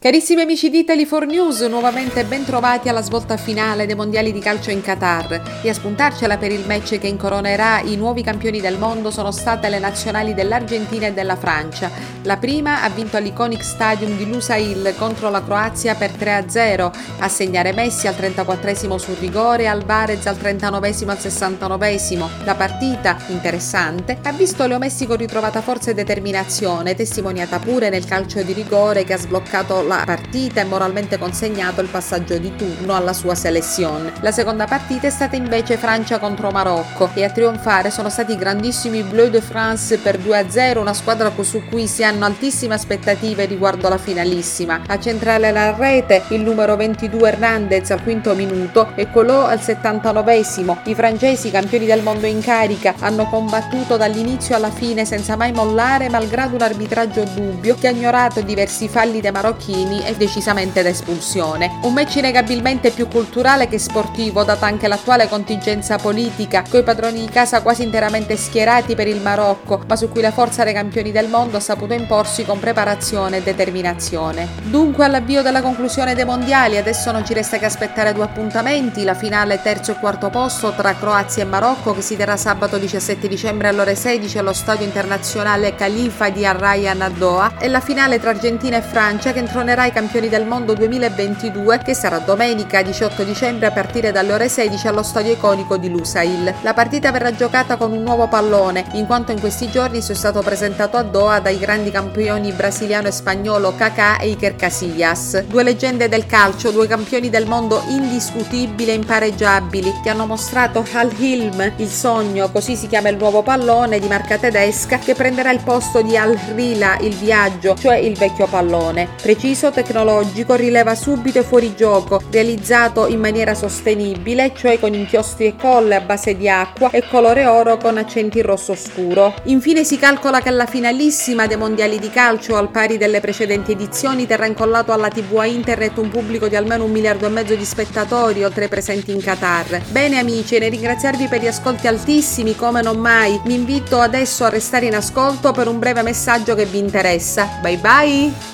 Carissimi amici di Italy4News, nuovamente ben trovati alla svolta finale dei mondiali di calcio in Qatar, e a spuntarcela per il match che incoronerà i nuovi campioni del mondo sono state le nazionali dell'Argentina e della Francia. La prima ha vinto all'Iconic Stadium di Lusail contro la Croazia per 3-0, a segnare Messi al 34esimo sul rigore e Alvarez al 39esimo al 69esimo. La partita, interessante, ha visto Leo Messi con ritrovata forza e determinazione, testimoniata pure nel calcio di rigore che ha sbloccato la partita e moralmente consegnato il passaggio di turno alla sua selezione. La seconda partita è stata invece Francia contro Marocco e a trionfare sono stati i grandissimi Bleu de France per 2-0, una squadra su cui si hanno altissime aspettative riguardo alla finalissima. A centrare la rete il numero 22 Hernandez al quinto minuto e Colò al 79esimo. I francesi, campioni del mondo in carica, hanno combattuto dall'inizio alla fine senza mai mollare, malgrado un arbitraggio dubbio che ha ignorato diversi falli dei marocchini e decisamente da espulsione. Un match innegabilmente più culturale che sportivo, data anche l'attuale contingenza politica, coi padroni di casa quasi interamente schierati per il Marocco, ma su cui la forza dei campioni del mondo ha saputo imporsi con preparazione e determinazione. Dunque, all'avvio della conclusione dei mondiali, adesso non ci resta che aspettare due appuntamenti: la finale terzo e quarto posto tra Croazia e Marocco, che si terrà sabato 17 dicembre alle ore 16 allo stadio internazionale Khalifa di Al Rayyan a Doha, e la finale tra Argentina e Francia, che intronerà i campioni del mondo 2022, che sarà domenica 18 dicembre a partire dalle ore 16 allo stadio iconico di Lusail. La partita verrà giocata con un nuovo pallone, in quanto in questi giorni è stato presentato a Doha dai grandi campioni brasiliano e spagnolo Kaká e Iker Casillas, due leggende del calcio, due campioni del mondo indiscutibili e impareggiabili, che hanno mostrato Al Hilm, il sogno, così si chiama il nuovo pallone di marca tedesca, che prenderà il posto di Al Rila, il viaggio, cioè il vecchio pallone. Preciso, tecnologico, rileva subito e fuori gioco, realizzato in maniera sostenibile, cioè con inchiostri e colle a base di acqua e colore oro con accenti rosso scuro. Infine si calcola che alla finalissima dei mondiali di calcio, al pari delle precedenti edizioni, terrà incollato alla TV a internet un pubblico di almeno 1,5 miliardi di spettatori, oltre ai presenti in Qatar. Bene amici, e nel ringraziarvi per gli ascolti altissimi come non mai, vi invito adesso a restare in ascolto per un breve messaggio che vi interessa. Bye bye!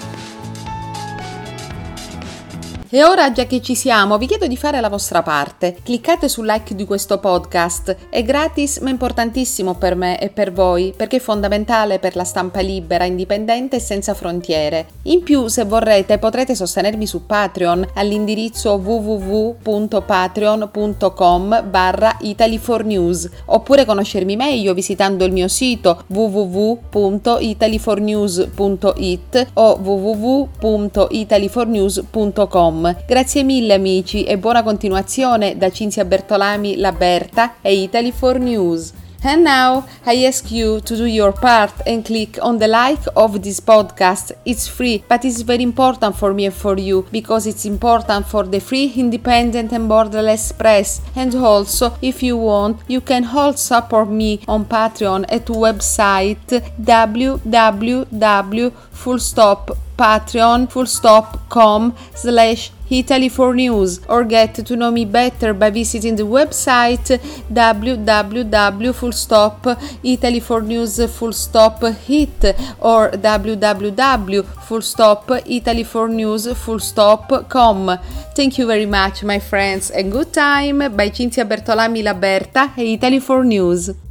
E ora, già che ci siamo, vi chiedo di fare la vostra parte. Cliccate sul like di questo podcast, è gratis ma importantissimo per me e per voi, perché è fondamentale per la stampa libera, indipendente e senza frontiere. In più, se vorrete, potrete sostenermi su Patreon all'indirizzo www.patreon.com/Italy4News, oppure conoscermi meglio visitando il mio sito www.italy4news.it o www.italy4news.com. Grazie mille amici e buona continuazione da Cinzia Bertolami, La Berta e Italy4News. And now I ask you to do your part and click on the like of this podcast. It's free, but it's very important for me and for you, because it's important for the free, independent and borderless press. And also, if you want, you can all support me on Patreon at website www.patreon.com/Italy4News, or get to know me better by visiting the website www.italy4news.it or www.italy4news.com. Thank you very much, my friends, and good time by Cinzia Bertolami, La Berta e Italy4News.